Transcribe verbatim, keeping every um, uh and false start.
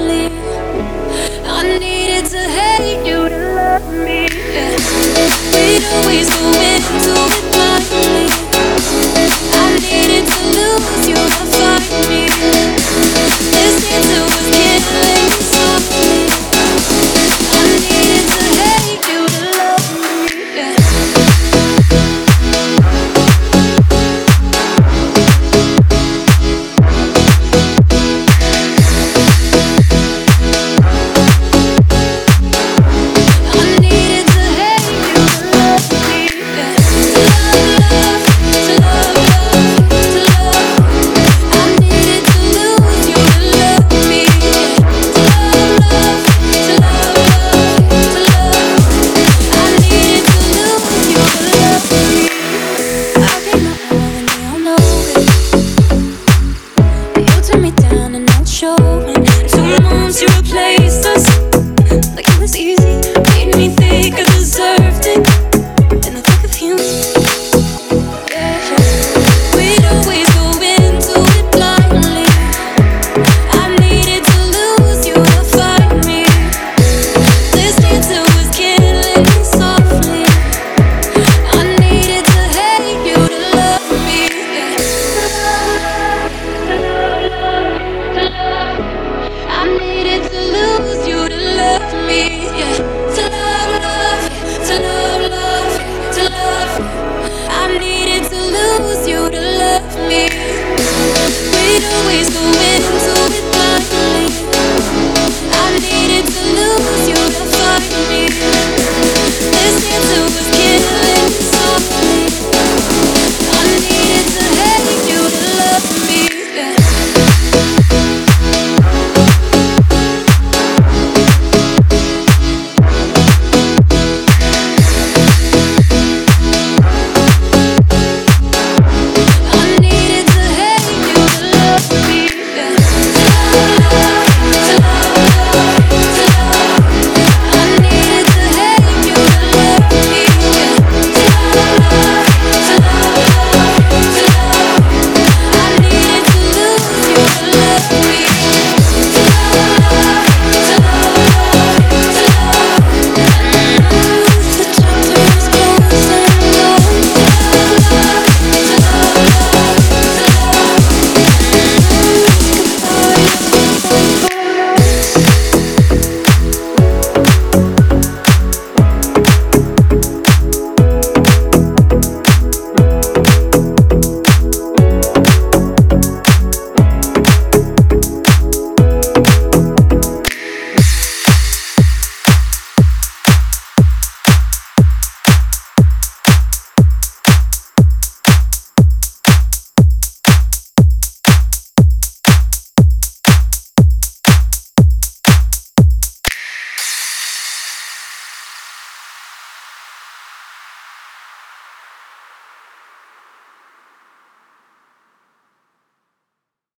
lightly. I needed to hate you to love me. Yeah. We'd always go into it blindly. I needed to lose you to find me. This answer was killing me softly. I needed to hate you to love me. Yeah. Two months you replaced us like it was easy.